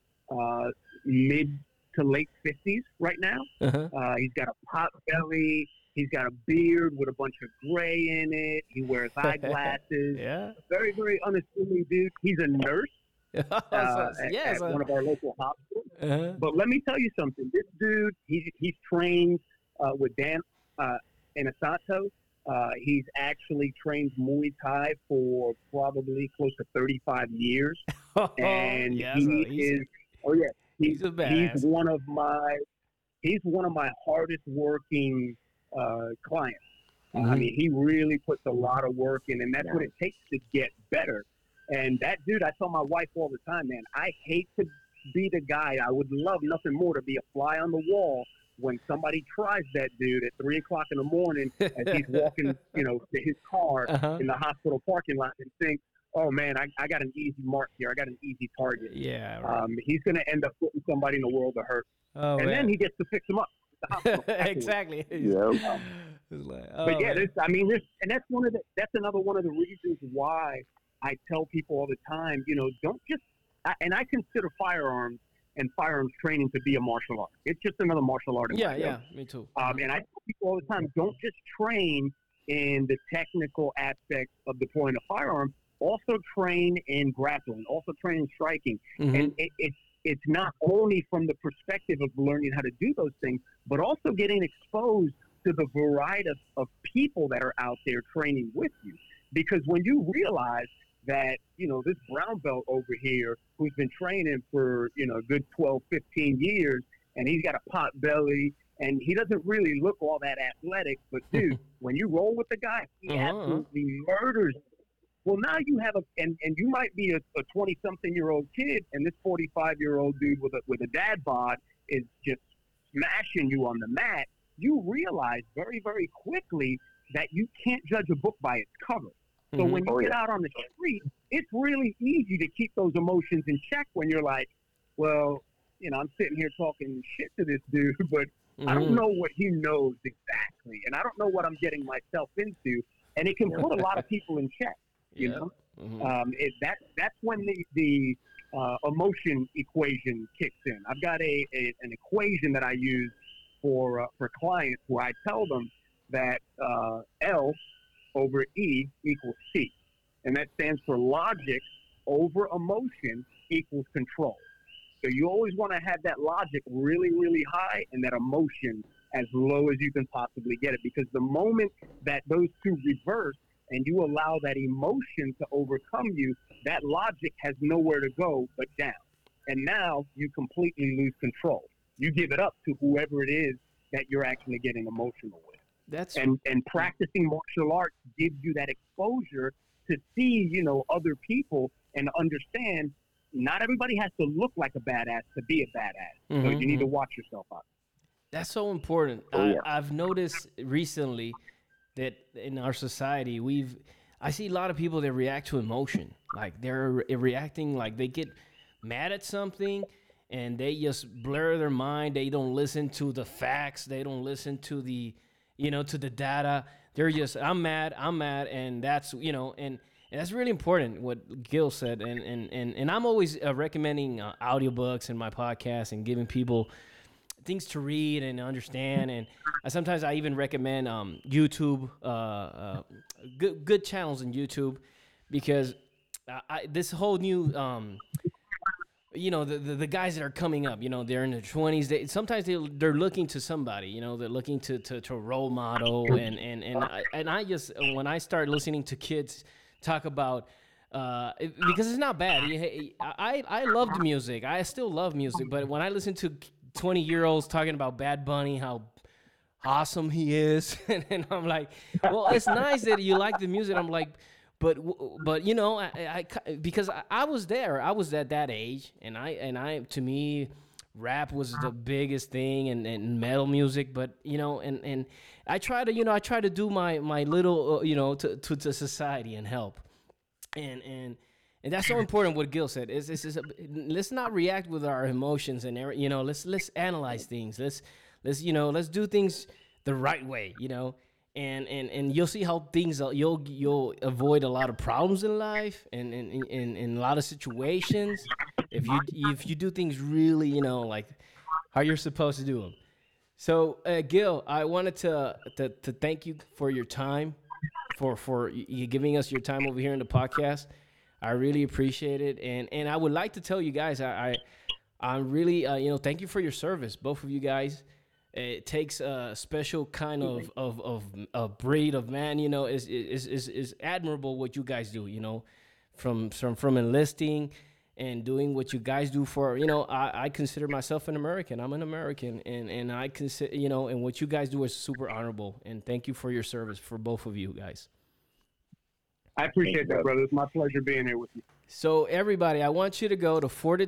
mid to late 50s right now. Uh-huh. He's got a pot belly. He's got a beard with a bunch of gray in it. He wears eyeglasses. Yeah. Very, very unassuming dude. He's a nurse at one of our local hospitals. Uh-huh. But let me tell you something. This dude, he's trained with Dan Inasato. He's actually trained Muay Thai for probably close to 35 years. And Yeah, he so he's- is, oh yeah, he's a badass. he's one of my hardest working clients. I Mhm. mean, he really puts a lot of work in, and that's what it takes to get better. And that dude, I tell my wife all the time, man, I hate to be the guy. I would love nothing more to be a fly on the wall when somebody tries that dude at 3:00 in the morning as he's walking, to his car Uh-huh. in the hospital parking lot and think, oh man, I got an easy mark here. I got an easy target. Yeah. Right. He's going to end up putting somebody in the world of hurt. Oh, And man. then he gets to fix them up at the hospital afterwards. Exactly. Yeah. It's like, But yeah, man. and that's another one of the reasons why I tell people all the time, don't just, and I consider firearms and firearms training to be a martial art. It's just another martial art. Yeah, me too. And I tell people all the time, don't just train in the technical aspects of deploying a firearm. Also train in grappling. Also train in striking. Mhm. And it's not only from the perspective of learning how to do those things, but also getting exposed to the variety of people that are out there training with you. Because when you realize that, this brown belt over here who's been training for, a good 12, 15 years, and he's got a pot belly, and he doesn't really look all that athletic, but dude, when you roll with the guy, he absolutely murders. Well, now you have and you might be a 20-something-year-old kid, and this 45-year-old dude with a dad bod is just smashing you on the mat. You realize very, very quickly that you can't judge a book by its cover. So when you get out on the street, it's really easy to keep those emotions in check when you're like, well, I'm sitting here talking shit to this dude, but I don't know what he knows exactly, and I don't know what I'm getting myself into, and it can put a lot of people in check. You know, that's when the emotion equation kicks in. I've got an equation that I use for clients where I tell them that L over E equals C, and that stands for logic over emotion equals control. So you always want to have that logic really, really high and that emotion as low as you can possibly get it, because the moment that those two reverse and you allow that emotion to overcome you, that logic has nowhere to go but down. And now you completely lose control. You give it up to whoever it is that you're actually getting emotional with. And practicing martial arts gives you that exposure to see, other people and understand not everybody has to look like a badass to be a badass. So you need to watch yourself out. That's so important. I've noticed recently that in our society, I see a lot of people that react to emotion. Like they're reacting like they get mad at something and they just blur their mind. They don't listen to the facts. They don't listen to the, to the data. They're just, I'm mad. And that's, and that's really important what Gil said. And I'm always recommending audiobooks in my podcast and giving people things to read and understand. And sometimes I even recommend YouTube, good channels in YouTube, because this whole new, the guys that are coming up, they're in their 20s. Sometimes they're looking to somebody, they're looking to role model. And I just, when I start listening to kids talk about because it's not bad. I loved music. I still love music, but when I listen to 20-year-olds talking about Bad Bunny, how awesome he is, and I'm like, well, it's nice that you like the music. I'm like, but you know, because I was there. I was at that age, and I to me, rap was the biggest thing, and metal music. But you know, and I try to, I try to do my little, to society and help. And that's so important what Gil said is let's not react with our emotions and let's analyze things. Let's do things the right way, and you'll see how things you'll avoid a lot of problems in life and in a lot of situations if you do things really, like how you're supposed to do them. So Gil, I wanted to thank you for your time, for you giving us your time over here in the podcast. I really appreciate it, and I would like to tell you guys, I'm really, thank you for your service, both of you guys. It takes a special kind of a breed of man, is admirable what you guys do, from enlisting and doing what you guys do for, I consider myself an American. I'm an American, and I consider, and what you guys do is super honorable. And thank you for your service, for both of you guys. I appreciate that, brother. It's my pleasure being here with you. So everybody, I want you to go to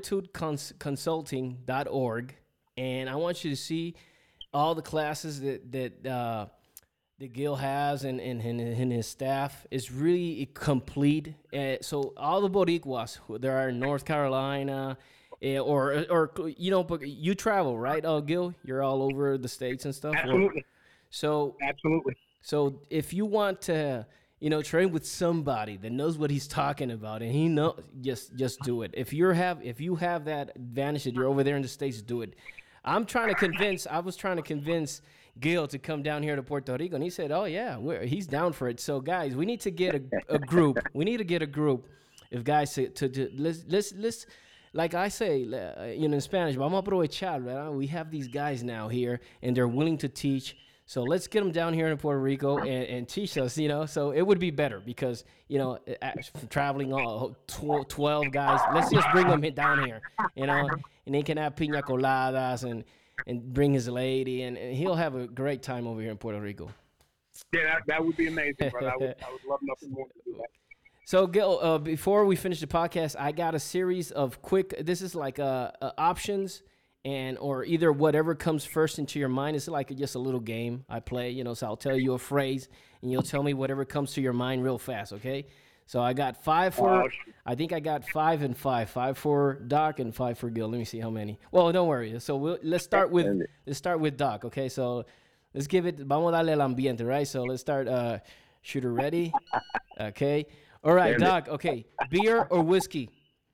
fortitudeconsulting.org, and I want you to see all the classes that Gil has and his staff is really complete. So all the Boricuas there are in North Carolina, but you travel, right? Gil, you're all over the states and stuff. Absolutely. Absolutely. So if you want to, train with somebody that knows what he's talking about, and he know, just do it. If you have that advantage that you're over there in the States, do it. I was trying to convince Gil to come down here to Puerto Rico, and he said, "Oh yeah, he's down for it." So guys, we need to get a group. We need to get a group of guys to let's like I say, in Spanish, vamos a aprovechar, ¿verdad? We have these guys now here, and they're willing to teach. So let's get them down here in Puerto Rico and teach us, So it would be better because, traveling all 12 guys, let's just bring them down here, and they can have piña coladas and bring his lady, and he'll have a great time over here in Puerto Rico. Yeah, that would be amazing, brother. I would love nothing more to do that. So, Gil, before we finish the podcast, I got a series of this is like options, or either whatever comes first into your mind. It's like just a little game I play, so I'll tell you a phrase, and you'll tell me whatever comes to your mind real fast, okay? So I got 5 for, I think I got 5 and 5. 5 for Doc and 5 for Gil. Let me see how many. Well, don't worry. So let's start with Doc, okay? So let's give it, vamos a darle el ambiente, right? So let's start, shooter ready, okay? All right, Doc, okay. Beer or whiskey?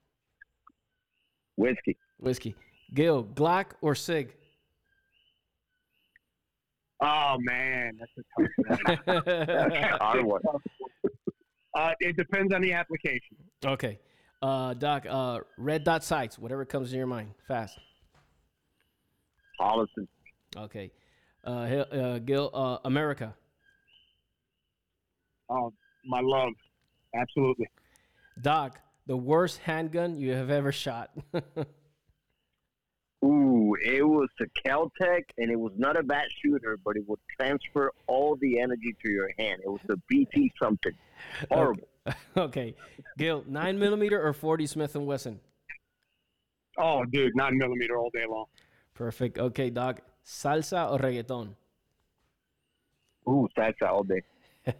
Whiskey. Gil, Glock or Sig? Oh, man, that's a tough one. Hard one. It depends on the application. Okay. Doc, red dot sights, whatever comes in your mind, fast. Holliston. Okay. Gil, America. Oh, my love. Absolutely. Doc, the worst handgun you have ever shot. Ooh, it was a Caltech, and it was not a bad shooter, but it would transfer all the energy to your hand. It was a BT something. Horrible. Okay. Gil, 9mm or 40 Smith & Wesson? Oh, dude, 9mm all day long. Perfect. Okay, Doc, salsa or reggaeton? Ooh, salsa all day.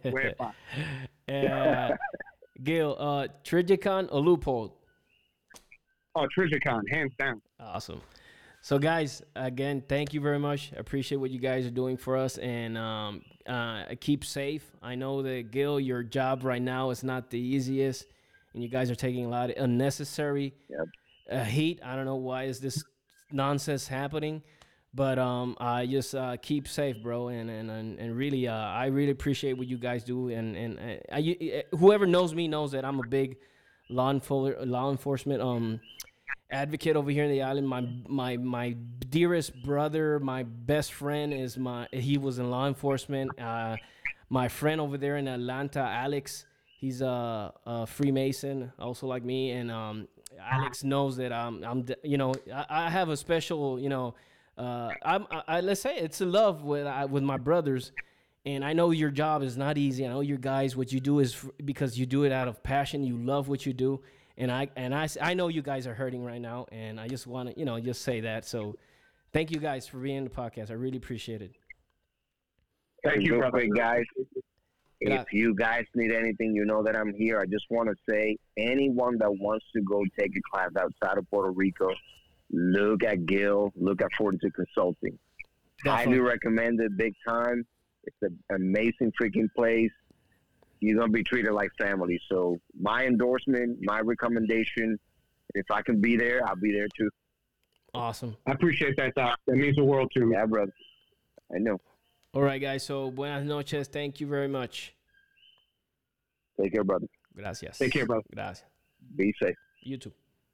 Gil, Trijicon or Loophole? Oh, Trijicon, hands down. Awesome. So, guys, again, thank you very much. I appreciate what you guys are doing for us, and keep safe. I know that, Gil, your job right now is not the easiest, and you guys are taking a lot of unnecessary heat. I don't know why is this nonsense happening, but I just keep safe, bro, and really, I really appreciate what you guys do, and whoever knows me knows that I'm a big law enforcement advocate over here in the island. My dearest brother, my best friend he was in law enforcement. My friend over there in Atlanta, Alex, He's a Freemason, also like me, and Alex knows that I have a special, let's say it's a love with my brothers, and I know your job is not easy. I know your guys, what you do is because you do it out of passion. You love what you do, and I know you guys are hurting right now, and I just want to, just say that. So, thank you guys for being in the podcast. I really appreciate it. Thank you, brother. Guys. If you guys need anything, you know that I'm here. I just want to say, anyone that wants to go take a class outside of Puerto Rico, look at Gil, look at Fortitude Consulting. Definitely. Highly recommend it, big time. It's an amazing freaking place. You're going to be treated like family. So my endorsement, my recommendation, if I can be there, I'll be there too. Awesome. I appreciate that, Doc. That means the world to me. Yeah, brother. I know. All right, guys. So, buenas noches. Thank you very much. Take care, brother. Gracias. Take care, brother. Gracias. Be safe. You too.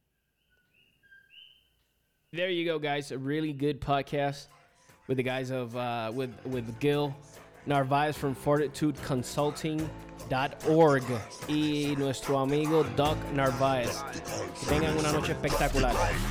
There you go, guys. A really good podcast with the guys of with Gil Narvaez from FortitudeConsulting.org y nuestro amigo Doc Narvaez. Que tengan una noche espectacular.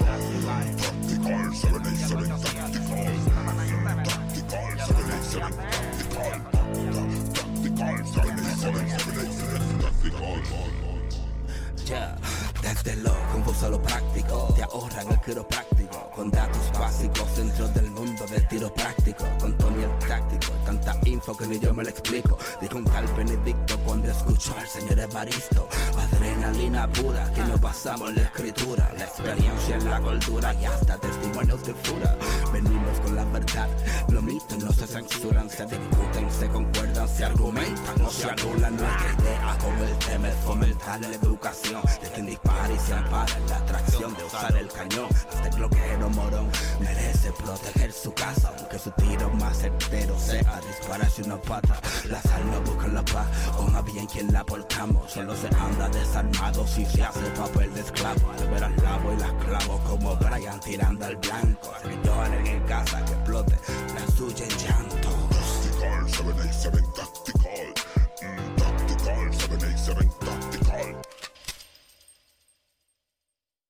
Yeah. Desde lo confuso a lo práctico, te ahorran el quiropráctico, con datos básicos dentro del mundo del tiro práctico, con Tony el táctico, tanta info que ni yo me lo explico. Dijo un tal Benedicto cuando escuchó al señor Evaristo. Adrenalina pura, que nos basamos en la escritura, la experiencia en la cultura y hasta testimonios de fura. Venimos con la verdad, los mitos no se censuran, se discuten, se concuerdan, se argumentan, no se anulan. Nuestra idea con el tema es fomentar la educación de quien dispara y se ampara en la atracción de usar el cañón. Hasta el bloqueo morón merece proteger su casa, aunque su tiro más certero sea dispararse una pata. La sal no busca la paz, o más bien quien la portamos. Solo se anda desarmado si se hace papel de esclavo. Al ver al lavo y las clavo como Brian tirando al blanco. Que lloren en casa, que explote la suya en llanto.